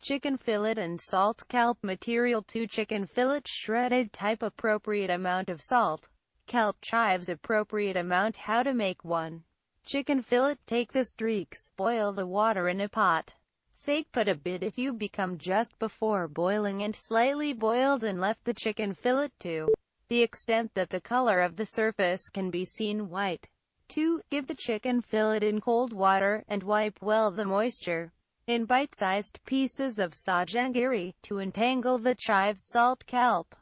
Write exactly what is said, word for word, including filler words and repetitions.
Chicken fillet and salt kelp material. Two chicken fillet shredded type appropriate amount of salt. Kelp chives appropriate amount. How to make one chicken fillet. Take the streaks, boil the water in a pot. Sake put a bit if you become just before boiling and slightly boiled and left the chicken fillet to the extent that the color of the surface can be seen white. two. Give the chicken fillet in cold water, and wipe well the moisture. In bite-sized pieces of sa janggery, to entangle the chives. Salt kelp.